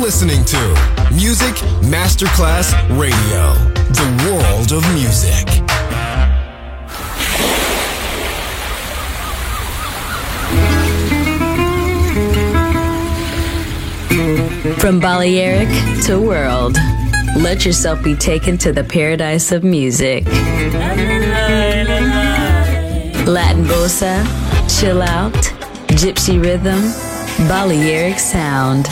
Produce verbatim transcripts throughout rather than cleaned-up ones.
listening to Music Masterclass Radio, the world of music. From Balearic to world, let yourself be taken to the paradise of music. Latin bossa, chill out, gypsy rhythm, Balearic sound,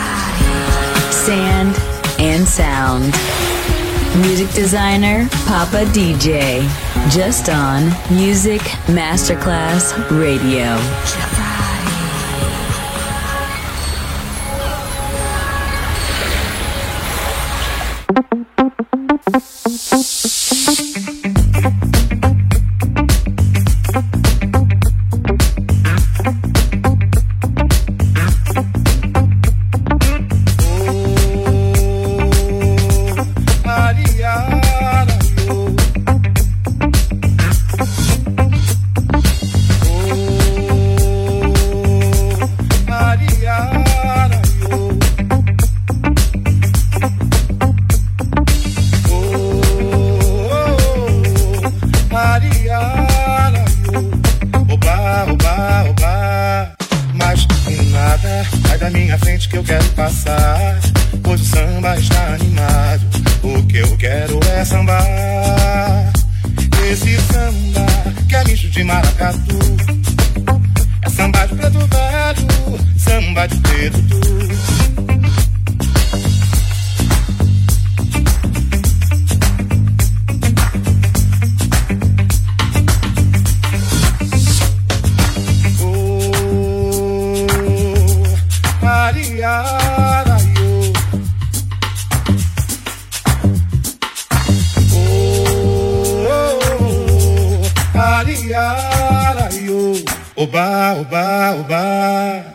sand and sound. Music designer, Papa D J, just on Music Masterclass Radio. Oba, oba, oba.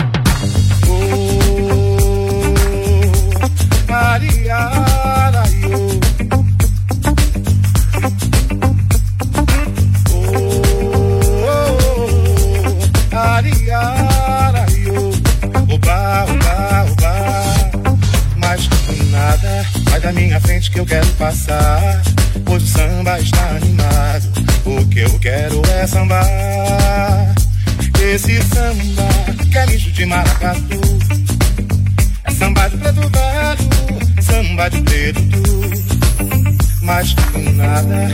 Da minha frente que eu quero passar, pois o samba está animado. O que eu quero é sambar. Esse samba que é misto de maracatu. É samba de preto velho, samba de preto tu. Mas com nada.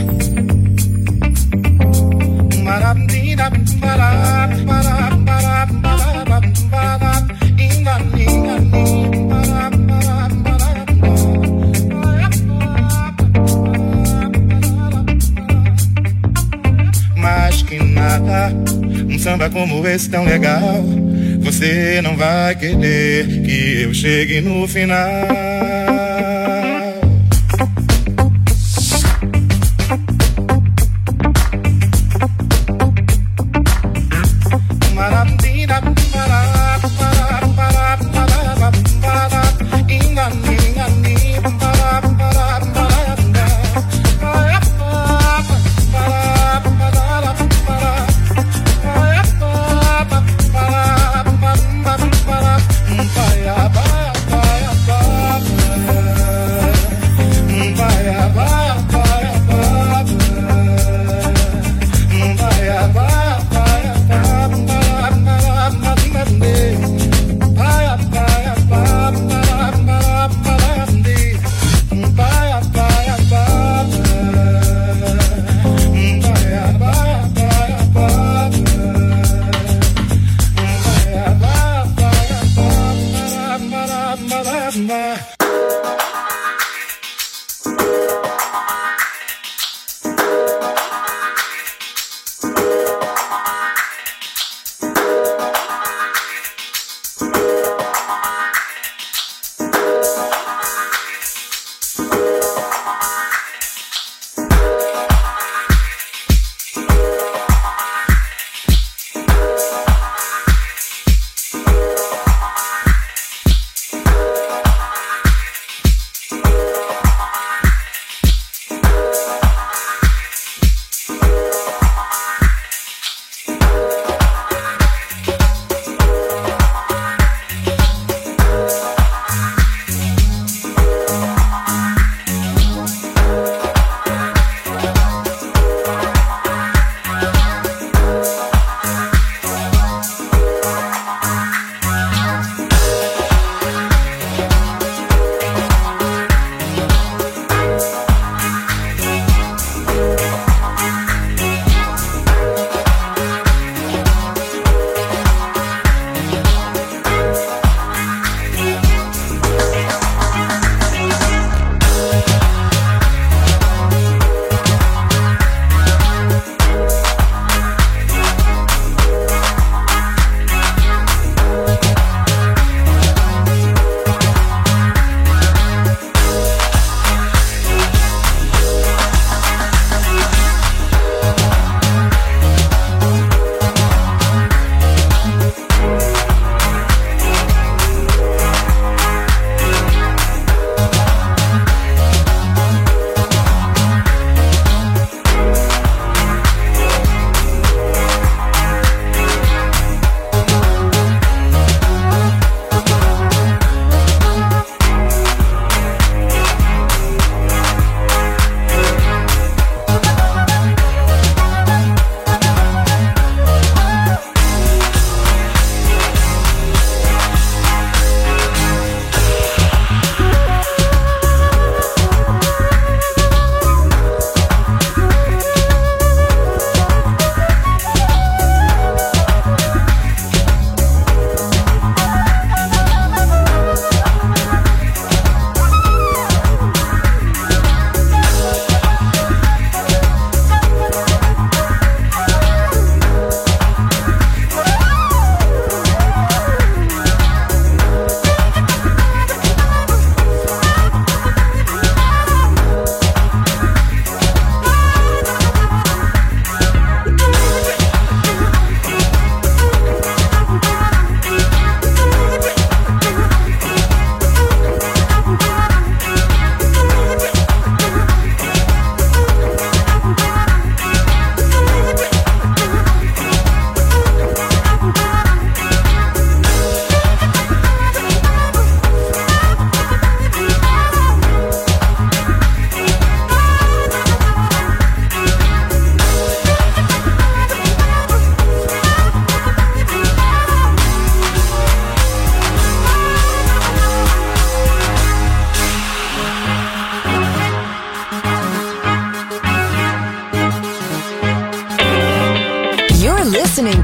Marabindina, marab, marab, marab, marab, marab, inga, inga, marab, marab, marab. Mais que nada, um samba como esse tão legal, você não vai querer que eu chegue no final.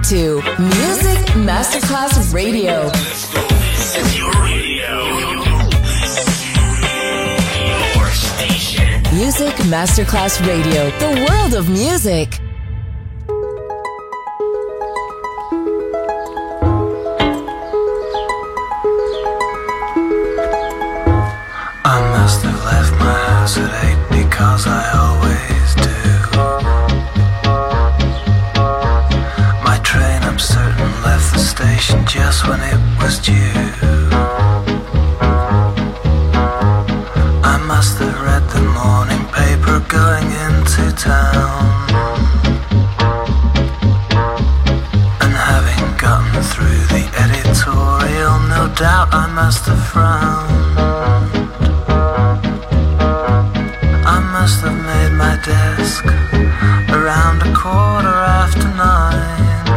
to Music Masterclass Radio. This is your radio. Your station. Music Masterclass Radio. The world of music. I must have left my house at eight because I always do. My train, I'm certain, left the station just when it was due. I must have read the morning paper going into town, and having gotten through the editorial, no doubt I must have frowned. I must have made my desk around a quarter after nine,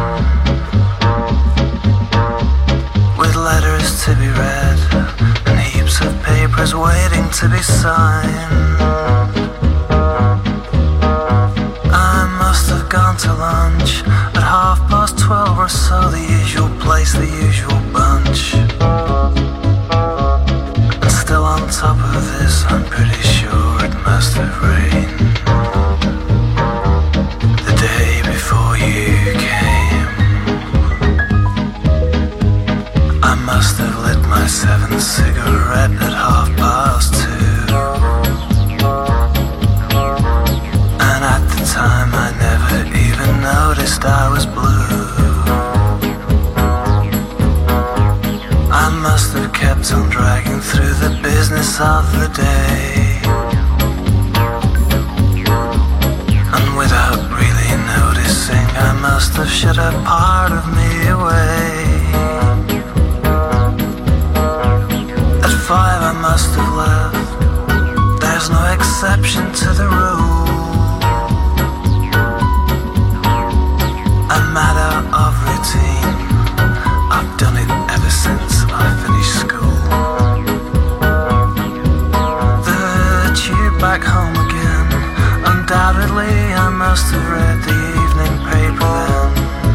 with letters to be read and heaps of papers waiting to be signed. I must have gone to lunch at half past twelve or so, the usual place, the usual bunch. And still on top of this, I'm pretty sure it must have rained the day before you came. I must have lit my seventh cigarette at half past two, and at the time I never even noticed I was blue. I must have kept on dragging through the business of the day, and without really noticing, I must have shut a part of me away. At five I must have left, there's no exception to the rule. I'm mad out of routine, I've done it ever since I finished school. The tube back home again, undoubtedly I must have read the evening paper then.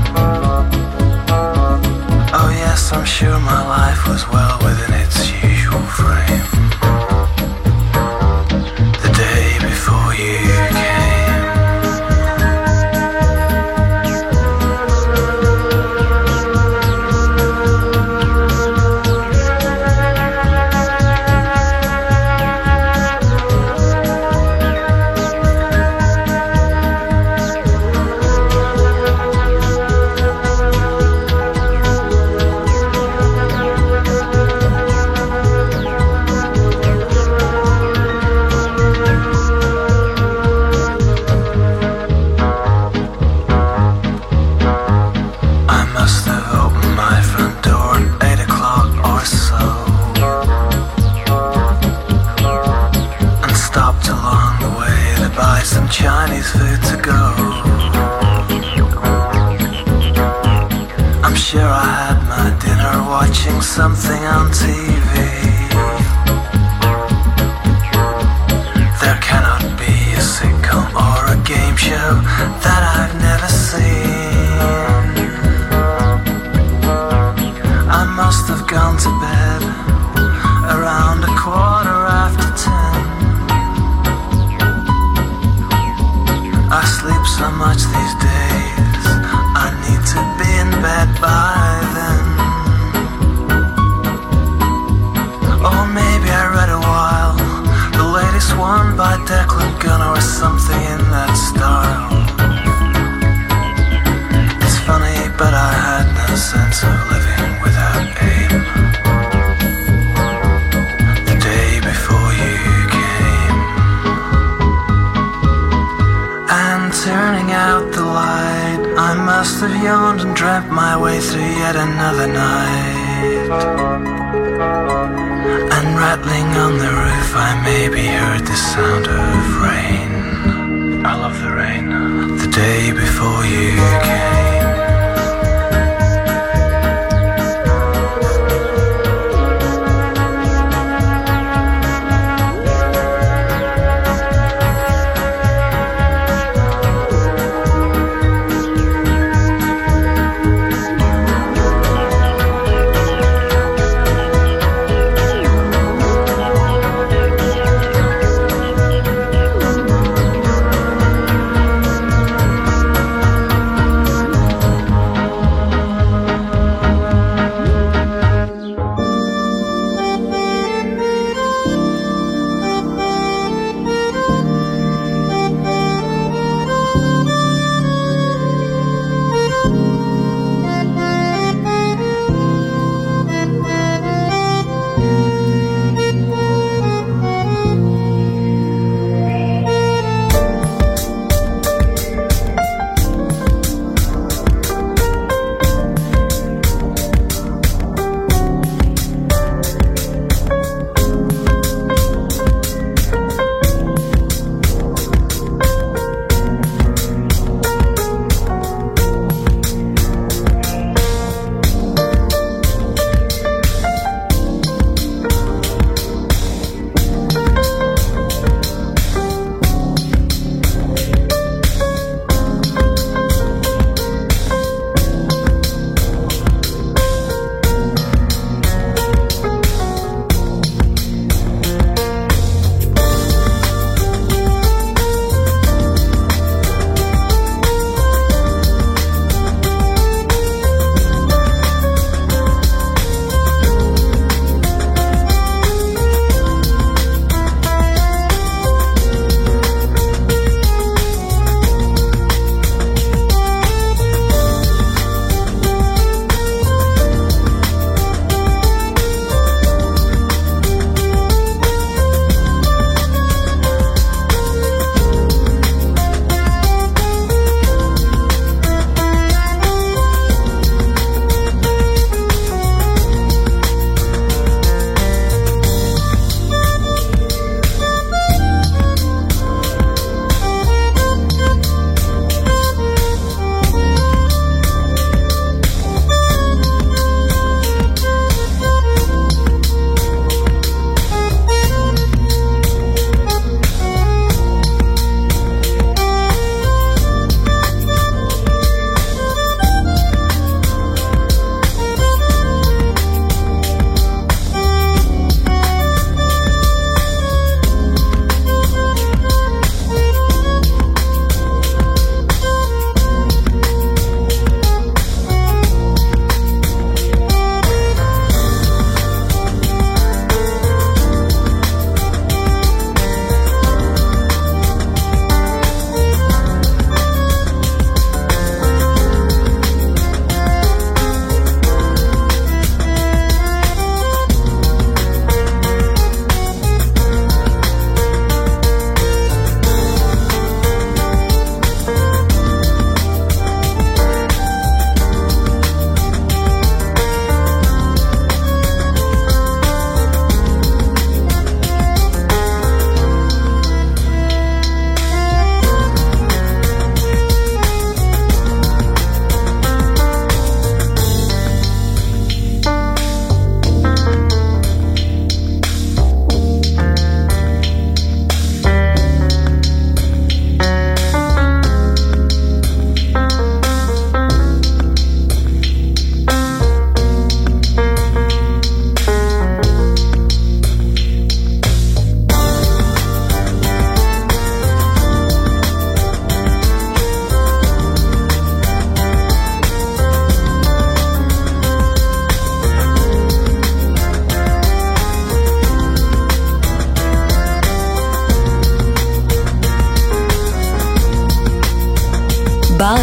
Oh yes, I'm sure my life was well within its usual frame the day before you came. Chinese food to go. I'm sure I had my dinner watching something on T V. There cannot be a sitcom or a game show that I've never seen. I must have gone to bed around a quarter after ten. I sleep so much these days, I need to be in bed by then. Or maybe I read a while, the latest one by Declan Gunner or something in that style. It's funny, but I had no sense of living without aim the day before you came. And turning out the light, I must have yawned and dreamt my way through yet another night. And rattling on the roof, I maybe heard the sound of rain. I love the rain. The day before you came.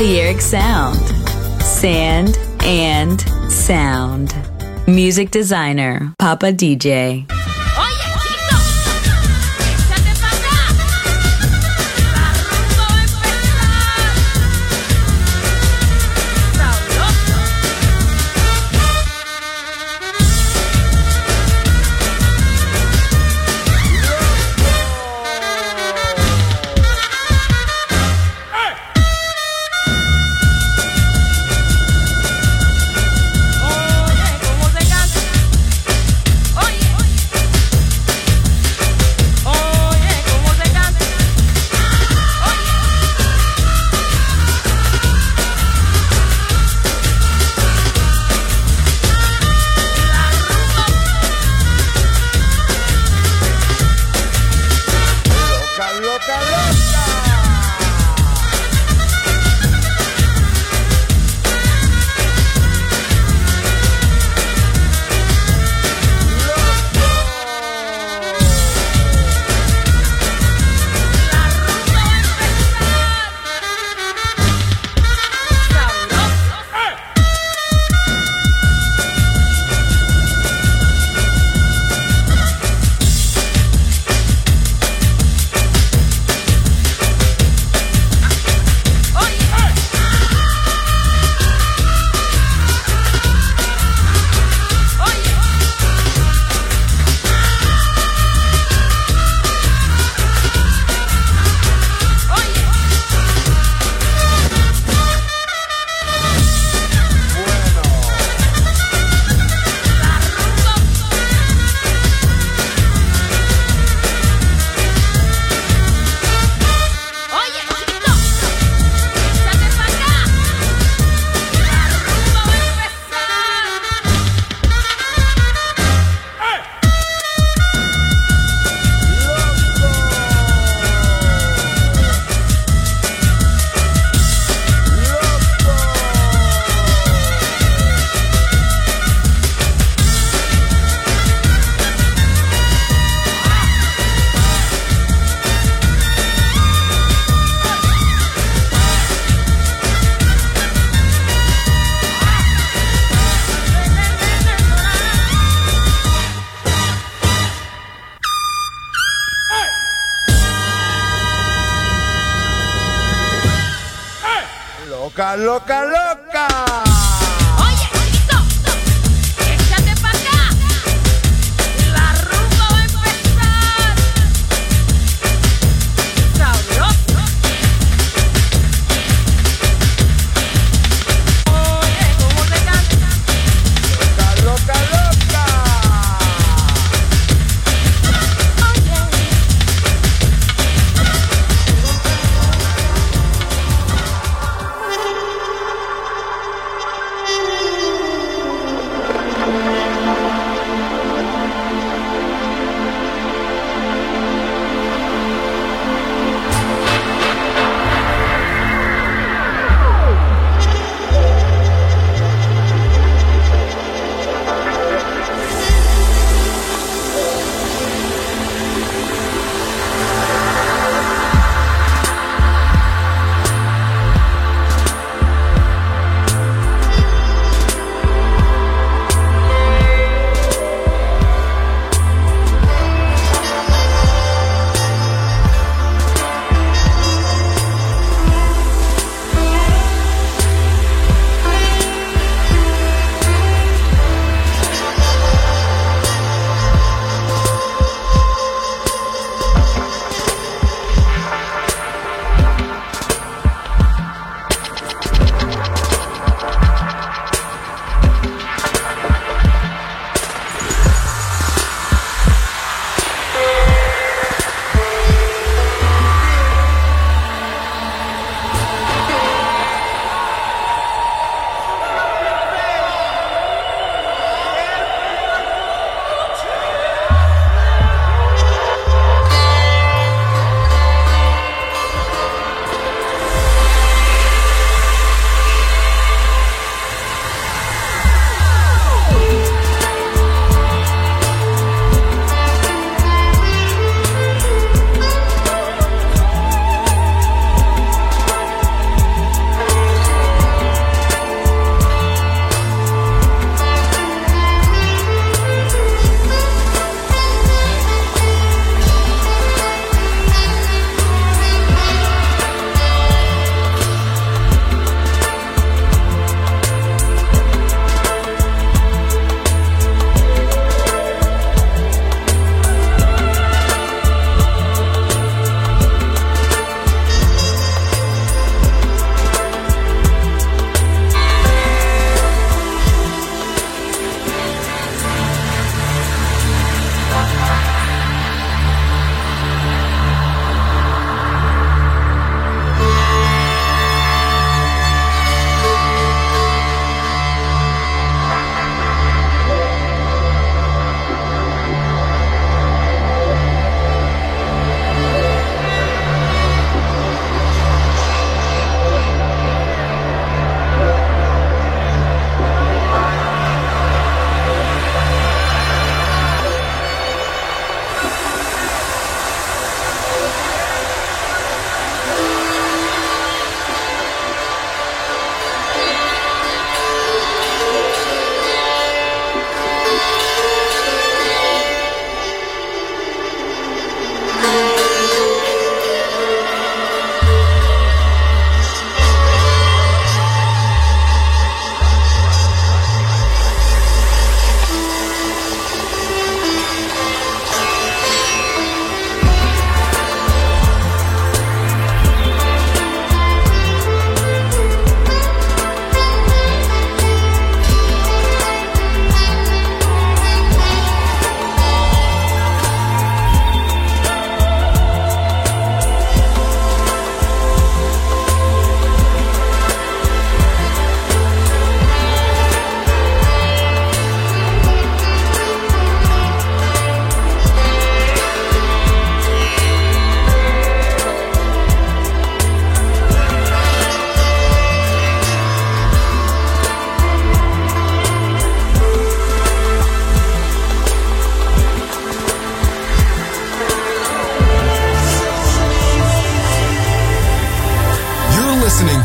Balearic Sound. Sand and sound. Music designer, Papa D J. Loca, loca, loca. Oye, chiquito, échate pa' acá. La rumba va a empezar. Sabroso. Oye, cómo te canta. Loca, loca, loca.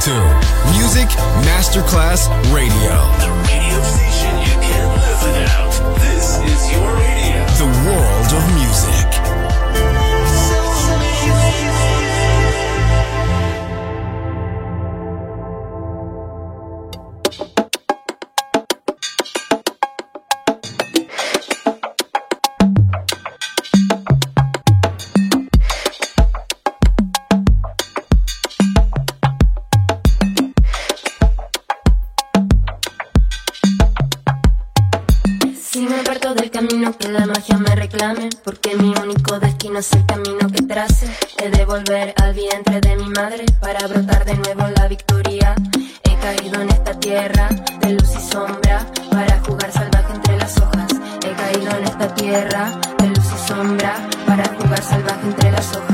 to Music Masterclass Radio. The radio station you can't live without. This is your radio. The world of music. Que la magia me reclame, porque mi único destino es el camino que trace. He de volver al vientre de mi madre para brotar de nuevo la victoria. He caído en esta tierra de luz y sombra para jugar salvaje entre las hojas. He caído en esta tierra de luz y sombra para jugar salvaje entre las hojas.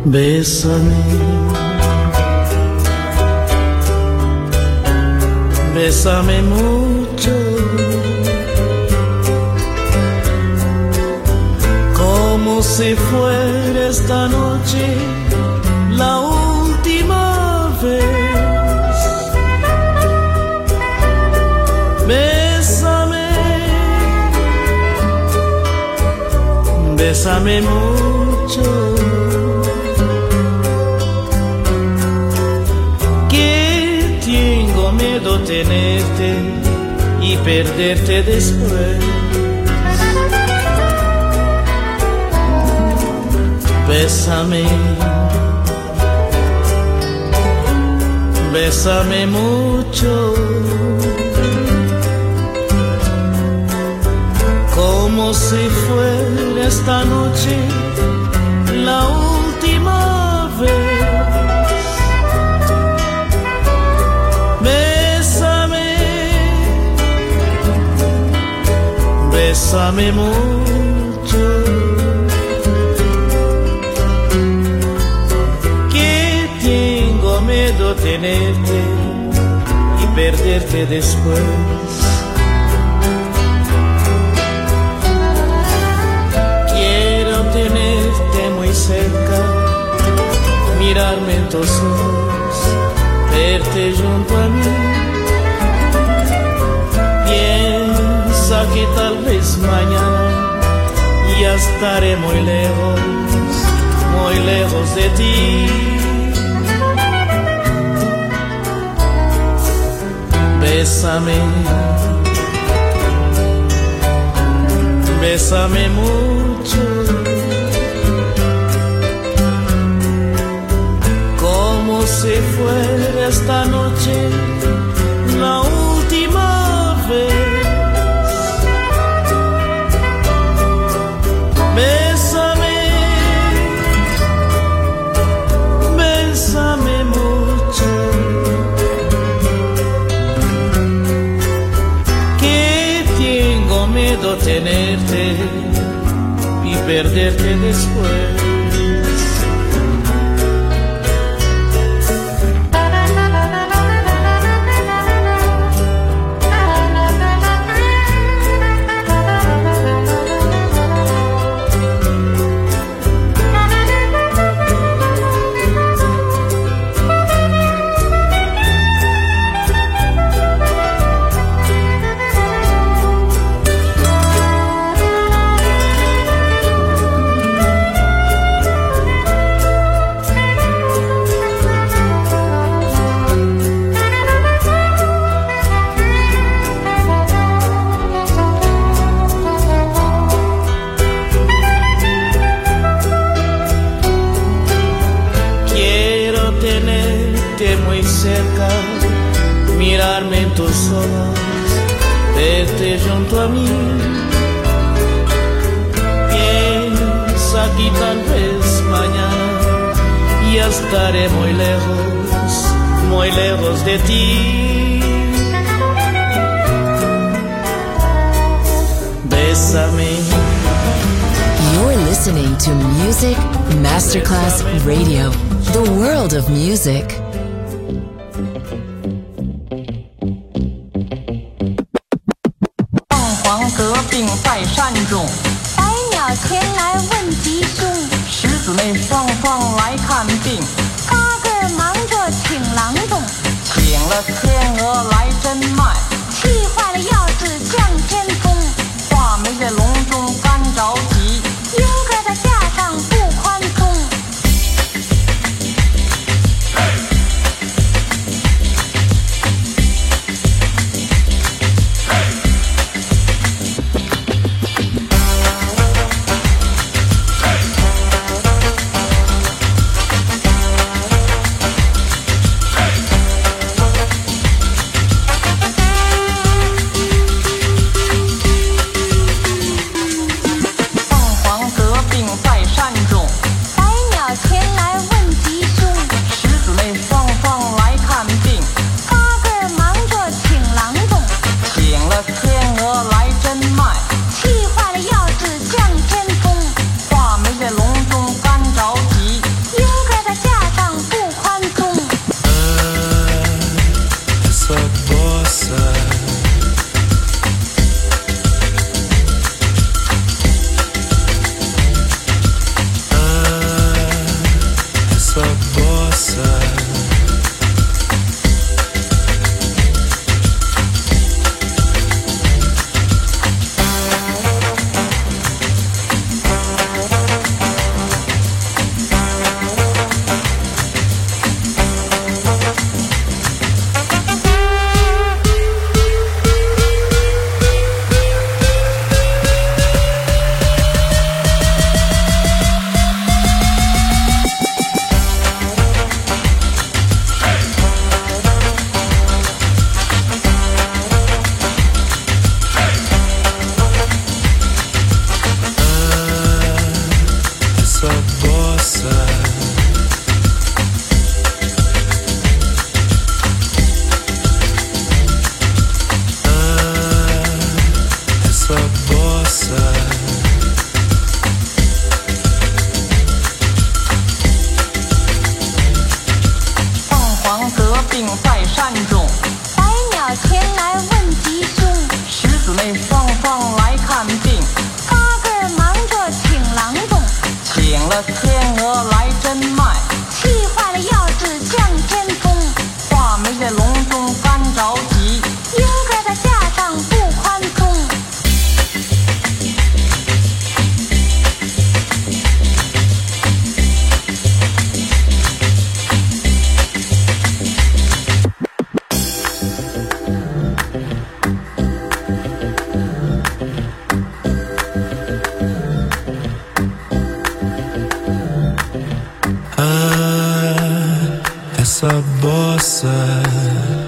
Bésame, bésame mucho, como si fuera esta noche la última vez. Bésame, bésame mucho, que tengo miedo tenerte y perderte después. Bésame, bésame mucho, como si fuera esta noche la última vez. Bésame, bésame mucho, que tengo miedo tenerte y perderte después. Tenerte muy cerca, mirarme en tus ojos, verte junto a mí. Piensa que tal vez mañana ya estaré muy lejos, muy lejos de ti. Bésame, bésame mucho, como si fuera esta noche la última vez. Bésame, bésame mucho, que tengo miedo tenerte y perderte después. Mirarme en tus ojos, verte junto a mí. Piensa que tal vez mañana ya estaré muy lejos, muy lejos de ti. Bésame. You're listening to Music Masterclass Radio, the world of music. bossa, bossa.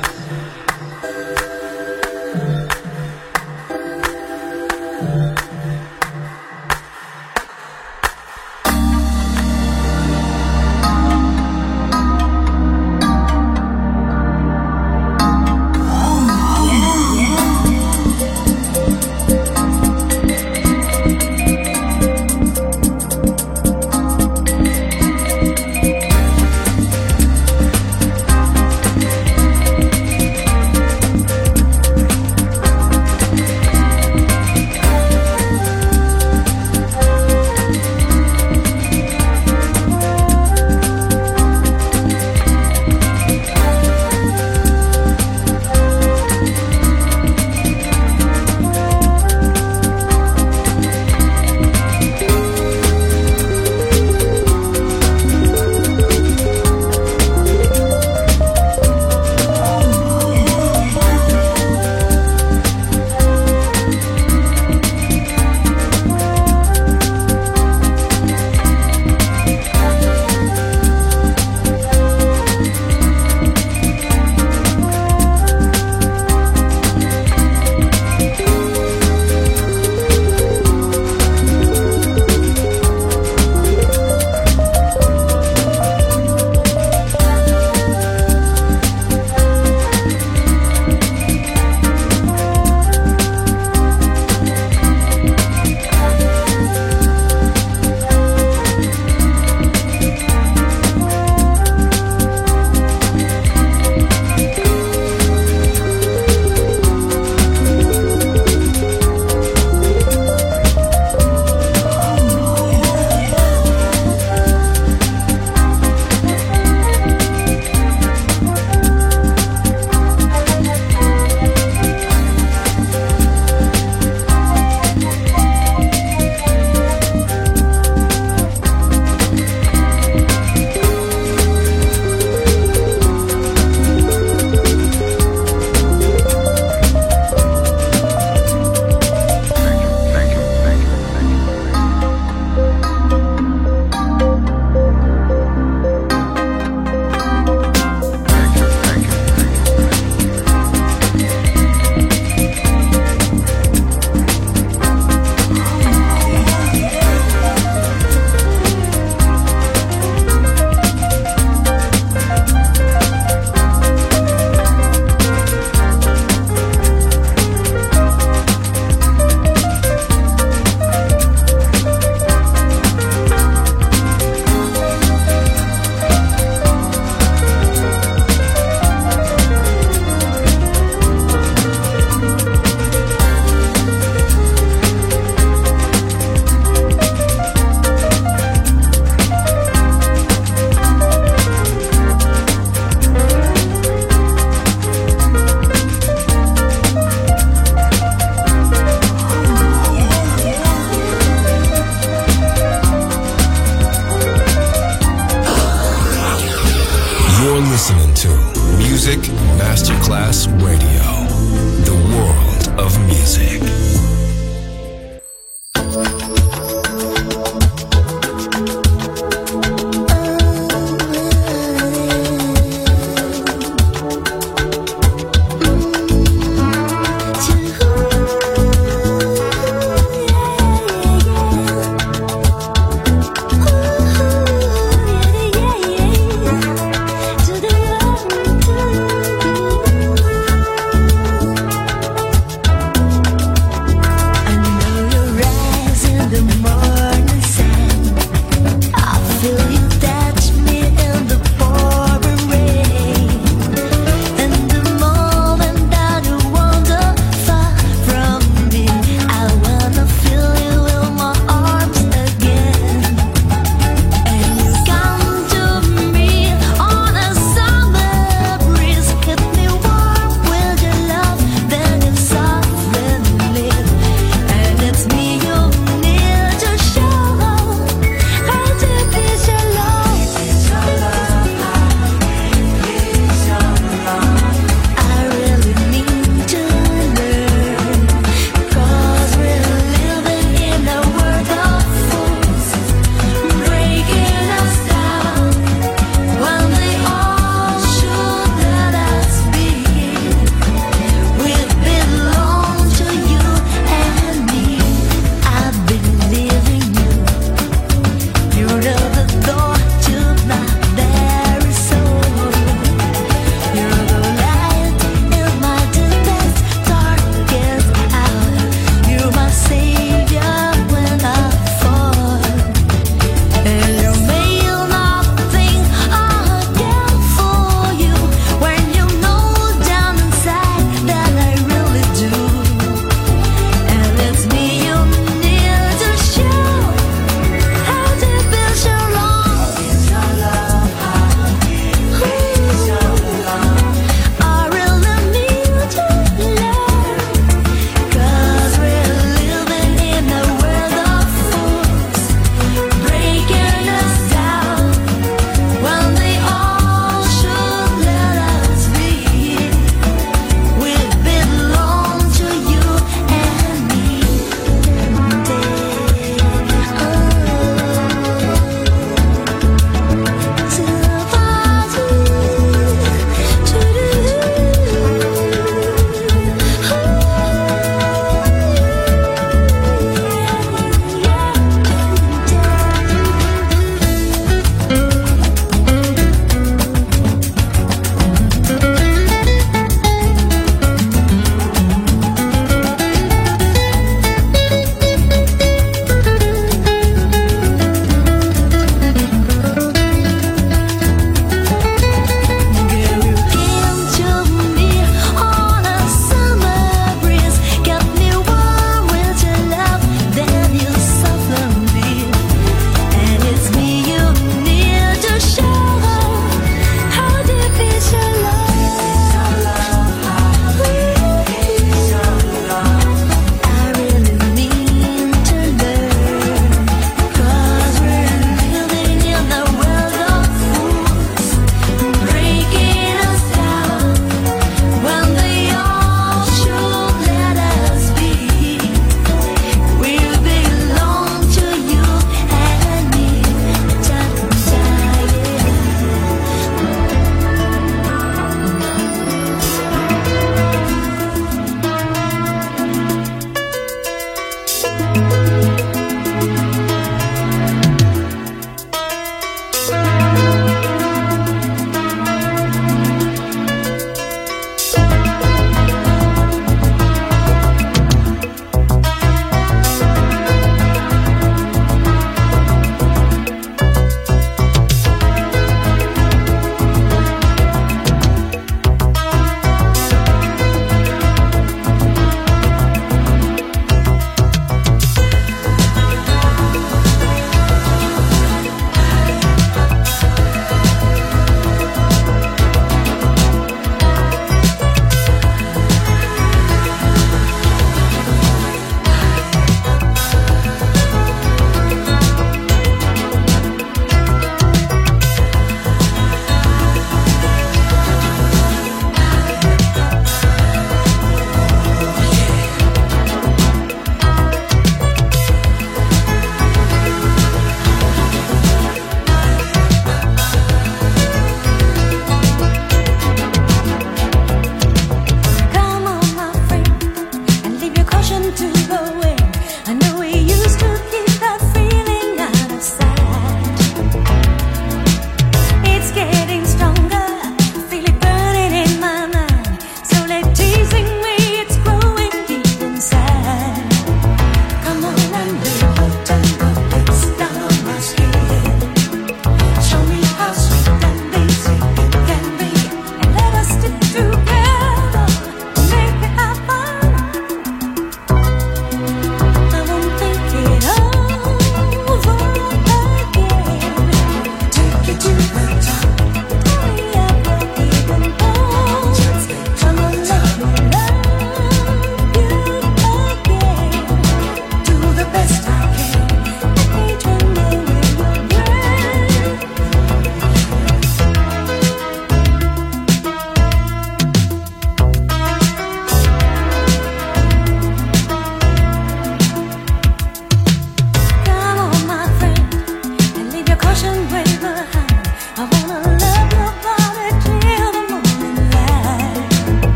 listening to Music Masterclass Radio, the world of music. The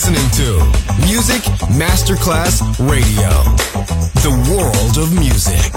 listening to Music Masterclass Radio, the world of music.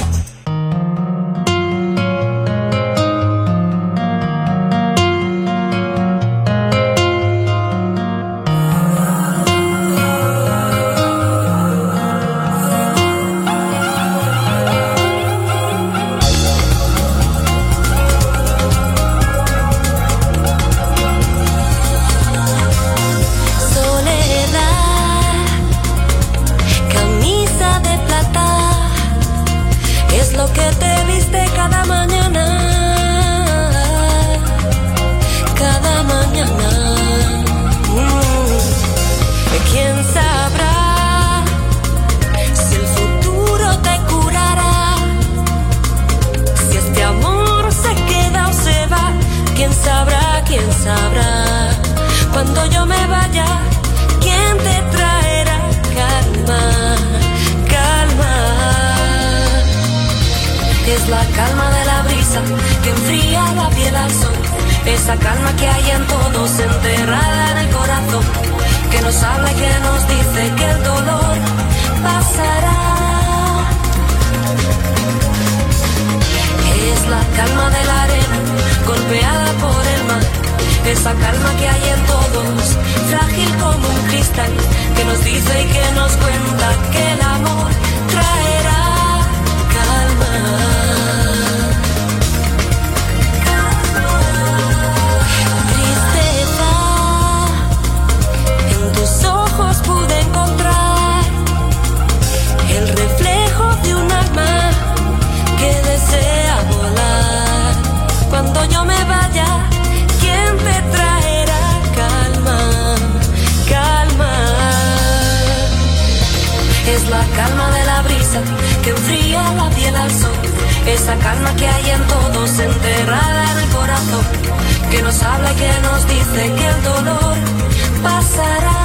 Esa calma que hay en todos, enterrada en el corazón, que nos habla y que nos dice que el dolor pasará. Es la calma de la arena, golpeada por el mar. Esa calma que hay en todos, frágil como un cristal, que nos dice y que nos cuenta que el amor traerá calma. Pude encontrar el reflejo de un alma que desea volar. Cuando yo me vaya, ¿quién te traerá calma? Calma. Es la calma de la brisa que enfría la piel al sol. Esa calma que hay en todos, enterrada en el corazón, que nos habla y que nos dice que el dolor pasará.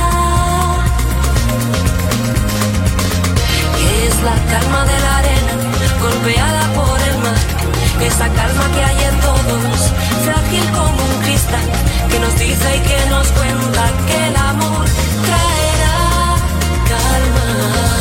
Es la calma de la arena, golpeada por el mar. Esa calma que hay en todos, frágil como un cristal, que nos dice y que nos cuenta que el amor traerá calma.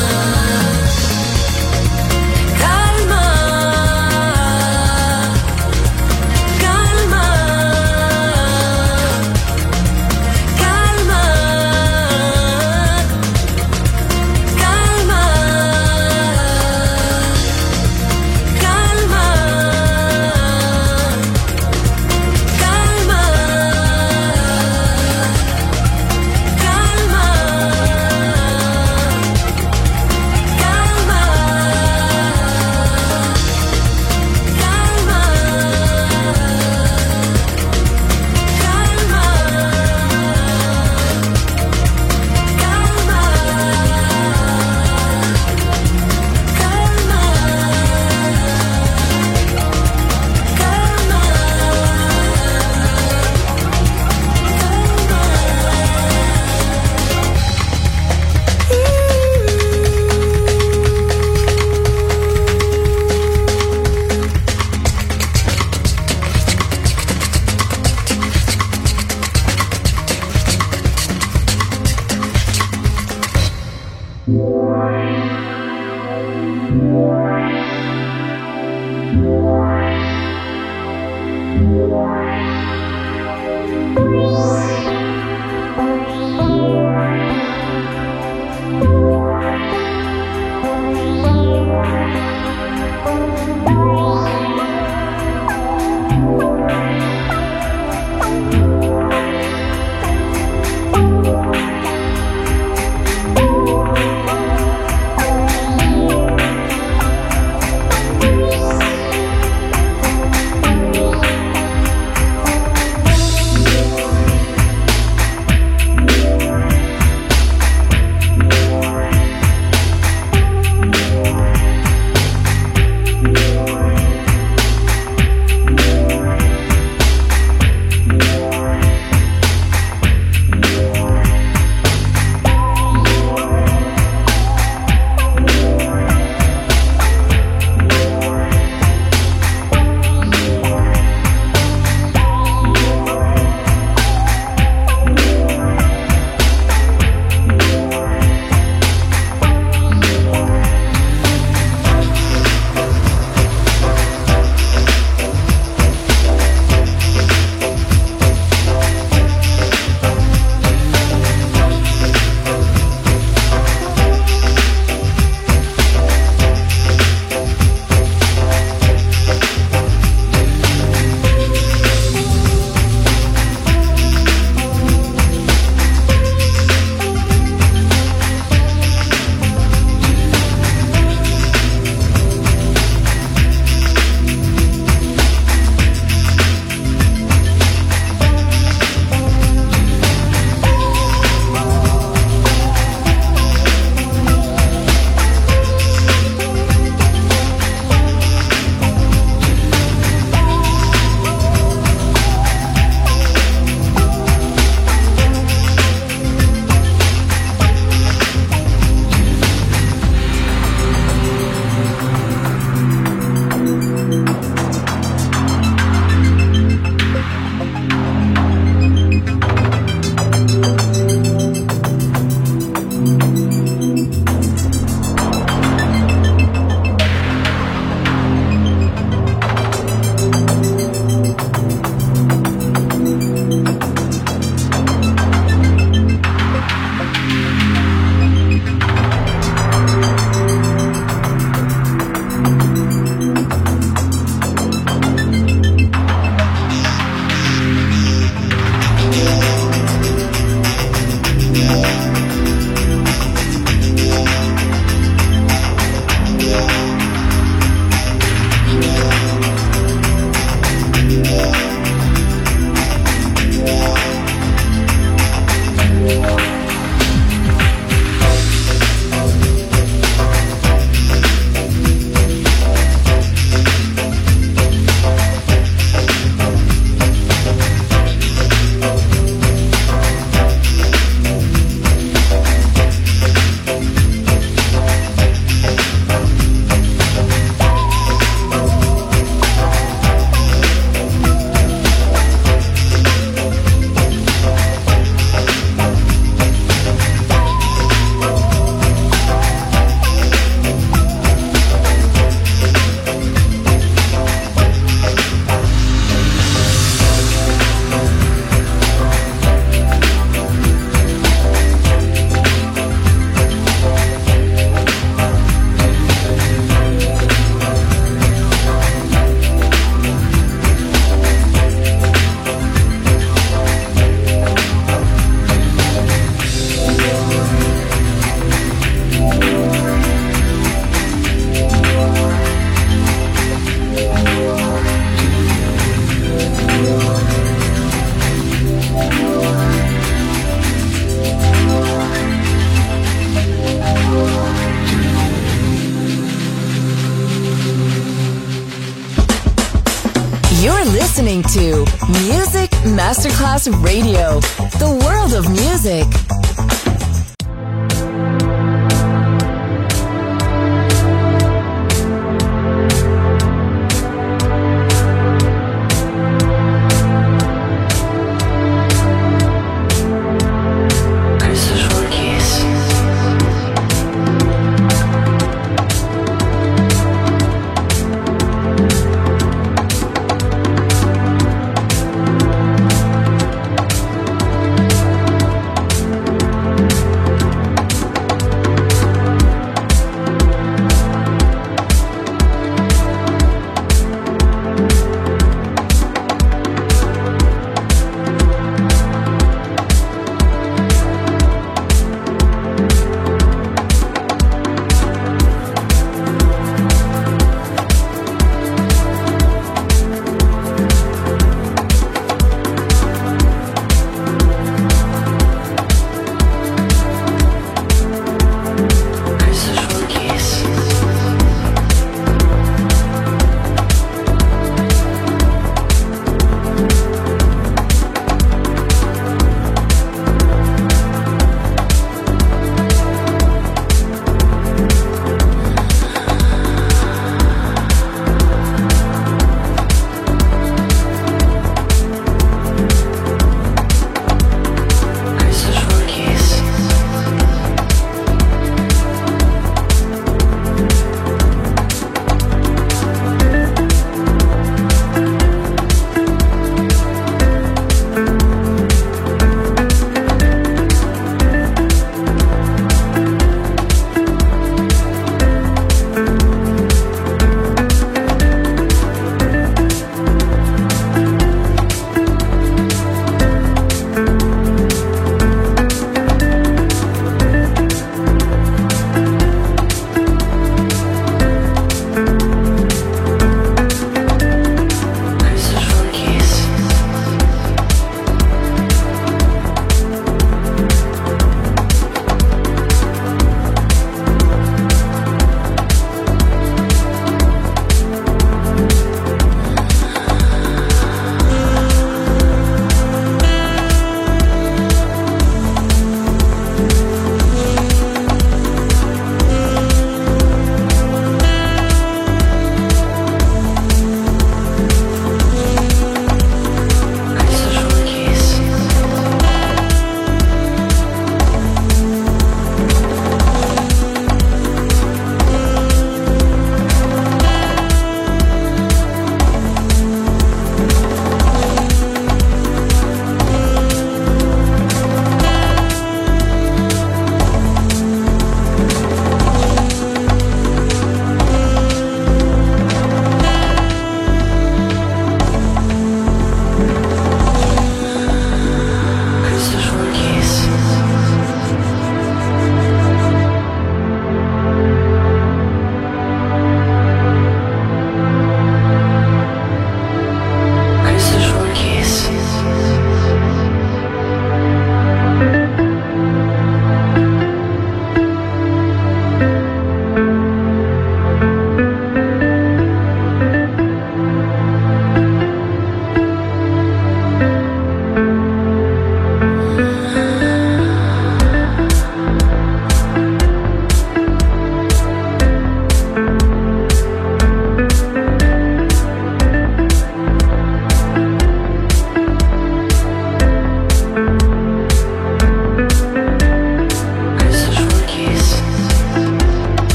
listening to Music Masterclass Radio, the world of music. Thank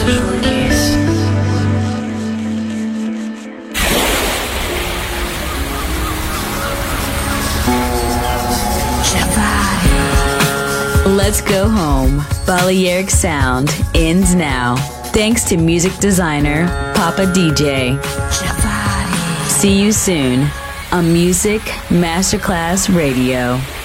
Let's go home. Balearic Sound ends now. Thanks to music designer Papa D J. See you soon on Music Masterclass Radio.